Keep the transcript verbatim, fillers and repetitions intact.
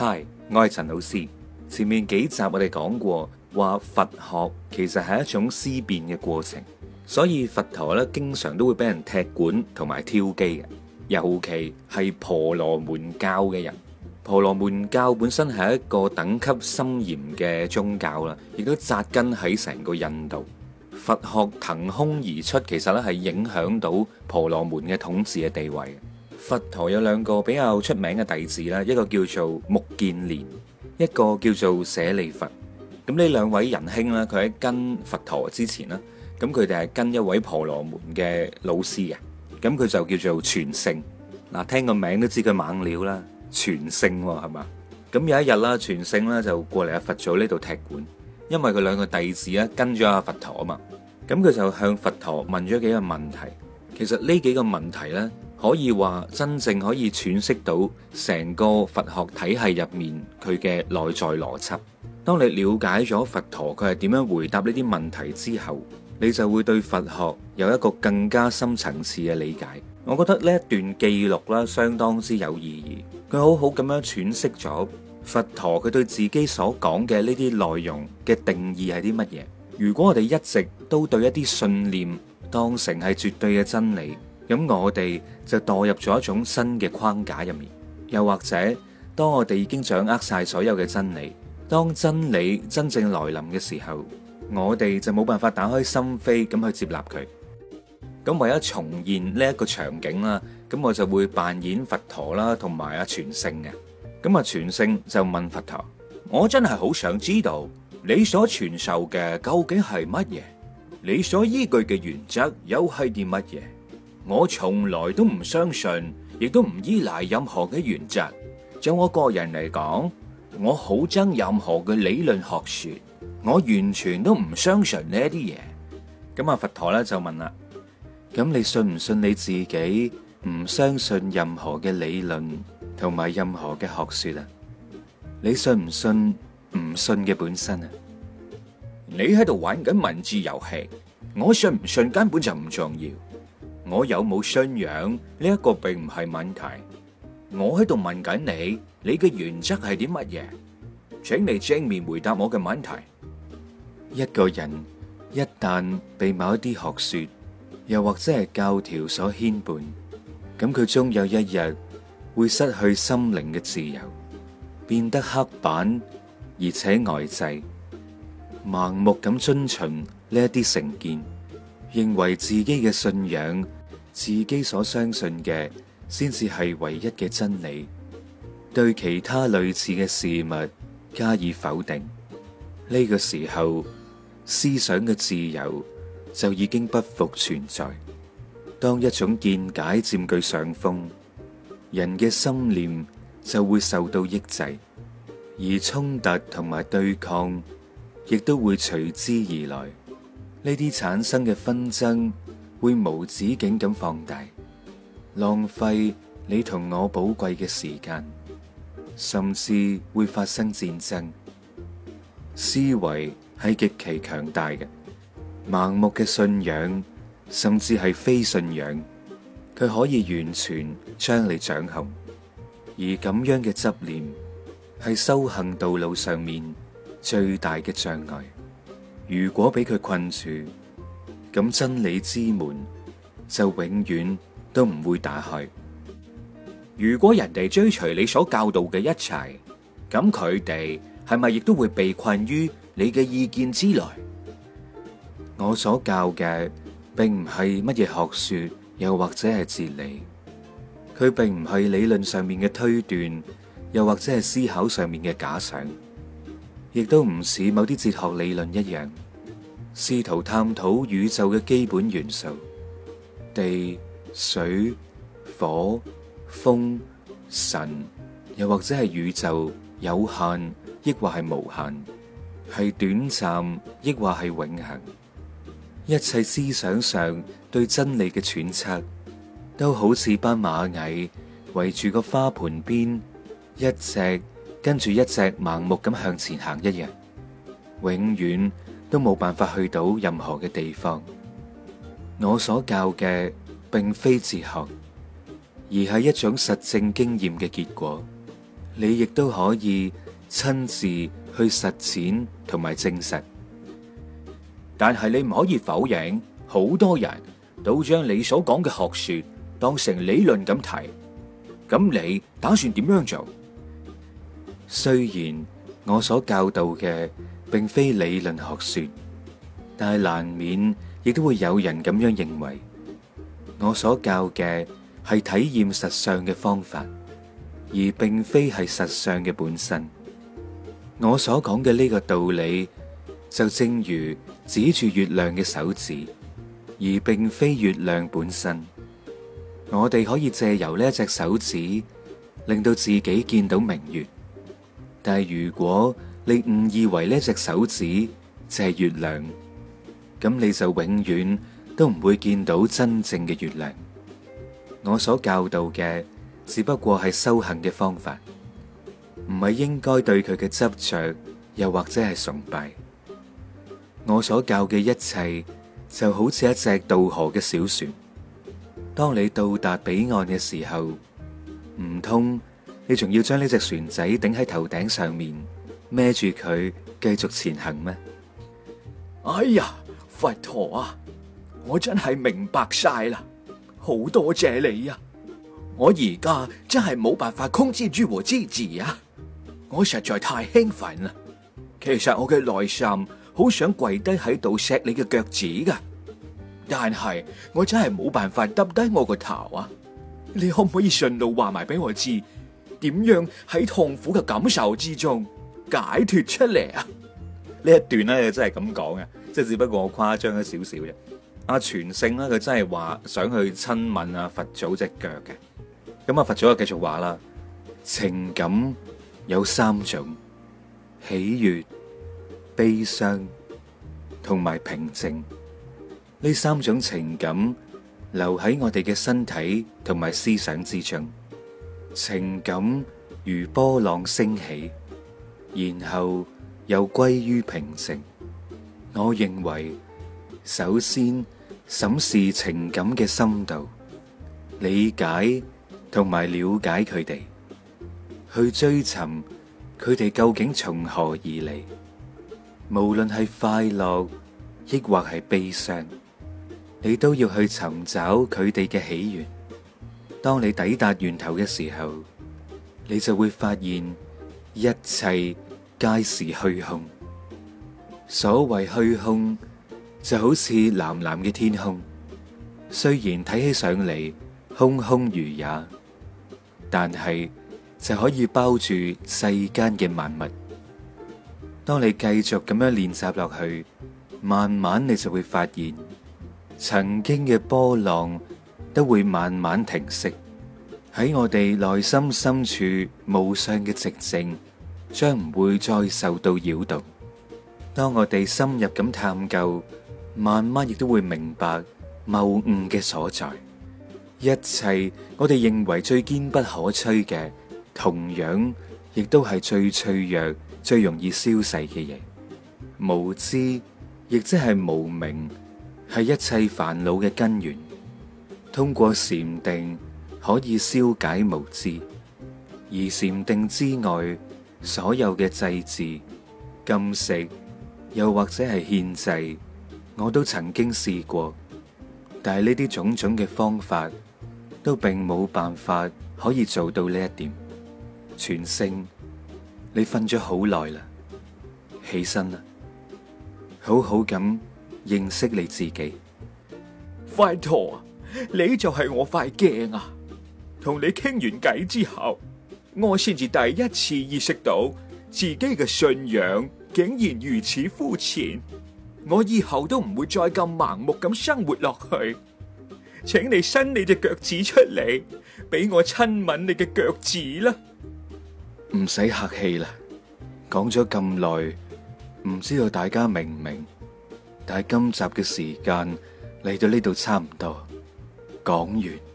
嗨，我係陳老師。前面幾集我哋講過，話佛學其實係一種思辨嘅過程，所以佛陀咧經常都會俾人踢館同埋挑機嘅，尤其係婆羅門教嘅人。婆羅門教本身係一個等級森嚴嘅宗教啦，亦都紮根喺成個印度。佛學騰空而出，其實咧係影響到婆羅門嘅統治嘅地位。佛陀有兩個比較出名嘅弟子啦，一個叫做目犍連，一個叫做舍利弗。咁呢兩位仁兄啦，佢喺跟佛陀之前啦，咁佢哋係跟一位婆羅門嘅老師嘅，咁佢就叫做全勝。嗱，聽個名都知佢猛料啦，全勝係嘛？咁有一日啦，全勝咧就過嚟阿佛祖呢度踢館，因為佢兩個弟子咧跟咗阿佛陀啊嘛，咁佢就向佛陀問咗幾個問題。其實呢幾個問題咧，可以話真正可以詮釋到成個佛學體系入面佢嘅內在邏輯。當你了解咗佛陀佢係點樣回答呢啲問題之後，你就會對佛學有一個更加深層次嘅理解。我覺得呢一段記錄啦，相當之有意義。佢好好咁樣詮釋咗佛陀佢對自己所講嘅呢啲內容嘅定義係啲乜嘢。如果我哋一直都對一啲信念當成係絕對嘅真理，咁我哋就墮入咗一種新嘅框架入面。又或者，當我哋已經掌握晒所有嘅真理，當真理真正來臨嘅時候，我哋就冇辦法打開心扉咁去接納佢。咁為咗重現呢一個場景啦，咁我就會扮演佛陀啦，同埋阿全勝嘅。咁啊，全勝就問佛陀：我真係好想知道你所傳授嘅究竟係乜嘢？你所依據嘅原則又係啲乜嘢？我從來都唔相信，亦都唔依賴任何嘅原則。就我個人嚟講，我好憎任何嘅理論學說，我完全都唔相信呢一啲嘢。咁啊，佛陀咧就問啦：咁你信唔信你自己唔相信任何嘅理論同埋任何嘅學說啊？你信唔信唔信嘅本身啊？你喺度玩緊文字遊戲，我信唔信根本就唔重要。我有冇信仰呢一個並唔係問題。我喺度問緊你，你嘅原則係啲乜嘢？請你正面回答我嘅問題。一個人一旦被某一啲學說，又或者係教條所牽絆，咁佢終有一日會失去心靈嘅自由，變得刻板而且呆滯，盲目咁遵循呢一啲成見，認為自己嘅信仰、自己所相信嘅先至係唯一嘅真理，對其他類似嘅事物加以否定。呢個時候，思想嘅自由就已經不復存在。當一種見解佔據上風，人嘅心念就會受到抑制，而衝突同埋對抗亦都會隨之而來。呢啲產生嘅紛爭會無止境咁放大，浪費你同我寶貴嘅時間，甚至會發生戰爭。思維係極其強大嘅，盲目嘅信仰甚至係非信仰，佢可以完全將你掌控。而咁樣嘅執念係修行道路上面最大嘅障礙。如果俾佢困住，咁真理之門就永遠都唔會打開。如果人哋追隨你所教導嘅一切，咁佢哋係咪亦都會被困於你嘅意見之內？我所教嘅並唔係乜嘢學說，又或者係哲理，佢並唔係理論上面嘅推斷，又或者係思考上面嘅假想，亦都唔似某啲哲學理論一樣，試圖探討宇宙嘅基本元素，地、水、火、風、神，又或者係宇宙有限，抑或係無限，係短暫，抑或係永恆。一切思想上對真理嘅揣測，都好似班螞蟻圍住個花盆邊，一隻跟住一隻盲目咁向前行一樣，永遠都冇辦法去到任何嘅地方。我所教嘅並非哲學，而係一種實證經驗嘅結果。 你亦都可以親自去實踐同埋證實。但係你唔可以否認，好多人都將你所講嘅學說當成理論咁睇。咁你打算點樣做？雖然我所教導嘅並非理論學說，但係難免亦都會有人咁樣認為，我所教嘅係體驗實相嘅方法，而並非係實相嘅本身。我所講嘅呢個道理，就正如指住月亮嘅手指，而並非月亮本身。我哋可以借由呢一隻手指，令到自己見到明月。但係如果你誤以為呢隻手指就係月亮，咁你就永遠都唔會見到真正嘅月亮。我所教導嘅只不過係修行嘅方法，唔係應該對佢嘅執着，又或者係崇拜。我所教嘅一切就好似一隻渡河嘅小船，當你到達彼岸嘅時候，唔通你仲要將呢隻船仔頂喺頭頂上面，孭住佢繼續前行咩？ 哎呀，佛陀啊，我真係明白晒啦，好多謝你啊！我而家真係冇辦法控制住我自己啊！我實在太興奮啦！其實我嘅內心好想跪低喺度錫你嘅腳趾噶，但係我真係冇辦法耷低我個頭啊！你可唔可以順路話埋俾我知，點樣喺痛苦嘅感受之中解脫出嚟啊？ 呢一段咧真係咁講嘅，即係只不過我誇張咗少少啫。阿全勝咧，佢真係話想去親吻阿佛祖隻腳嘅。咁阿佛祖就繼續話啦，情感有三種：喜悅、悲傷同埋平靜。呢三種情感留喺我哋嘅身體同埋思想之中。情感如波浪升起，然後又歸於平靜。我認為首先審視情感嘅深度，理解同埋了解佢哋，去追尋佢哋究竟從何而嚟。無論係快樂抑或係悲傷，你都要去尋找佢哋嘅起源。當你抵達源頭嘅時候，你就會發現一切皆是虛空。所謂虛空，就好似藍藍嘅天空，雖然睇起上嚟空空如也，但係就可以包住世間嘅萬物。當你繼續咁樣練習落去，慢慢你就會發現，曾經嘅波浪都會慢慢停息。喺我哋內心深處無上嘅寂靜，將唔會再受到擾動。當我哋深入咁探究，慢慢亦都會明白謬誤嘅所在。一切我哋認為最堅不可摧嘅，同樣亦都係最脆弱、最容易消逝嘅嘢。無知亦即係無明，係一切煩惱嘅根源。通過禪定可以消解無知，而禪定之外，所有嘅祭祀、禁食，又或者係獻祭，我都曾經試過，但係呢啲種種嘅方法都並冇辦法可以做到呢一點。全勝，你瞓咗好耐啦，起身啦，好好咁認識你自己。 佛陀，你就係我塊鏡啊！同你傾完偈之後，我先至第一次意識到自己嘅信仰竟然如此膚淺。我以後都唔會再咁盲目咁生活落去。請你伸你隻腳趾出嚟，俾我親吻你嘅腳趾啦！ 唔使客氣啦，講咗咁耐，唔知道大家明唔明？但係今集嘅時間嚟到呢度差唔多，講完。